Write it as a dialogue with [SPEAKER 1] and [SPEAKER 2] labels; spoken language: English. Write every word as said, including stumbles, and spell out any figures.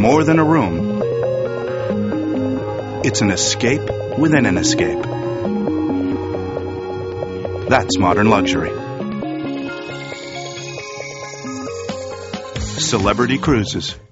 [SPEAKER 1] more than a room. It's an escape within an escape. That's modern luxury. Celebrity Cruises.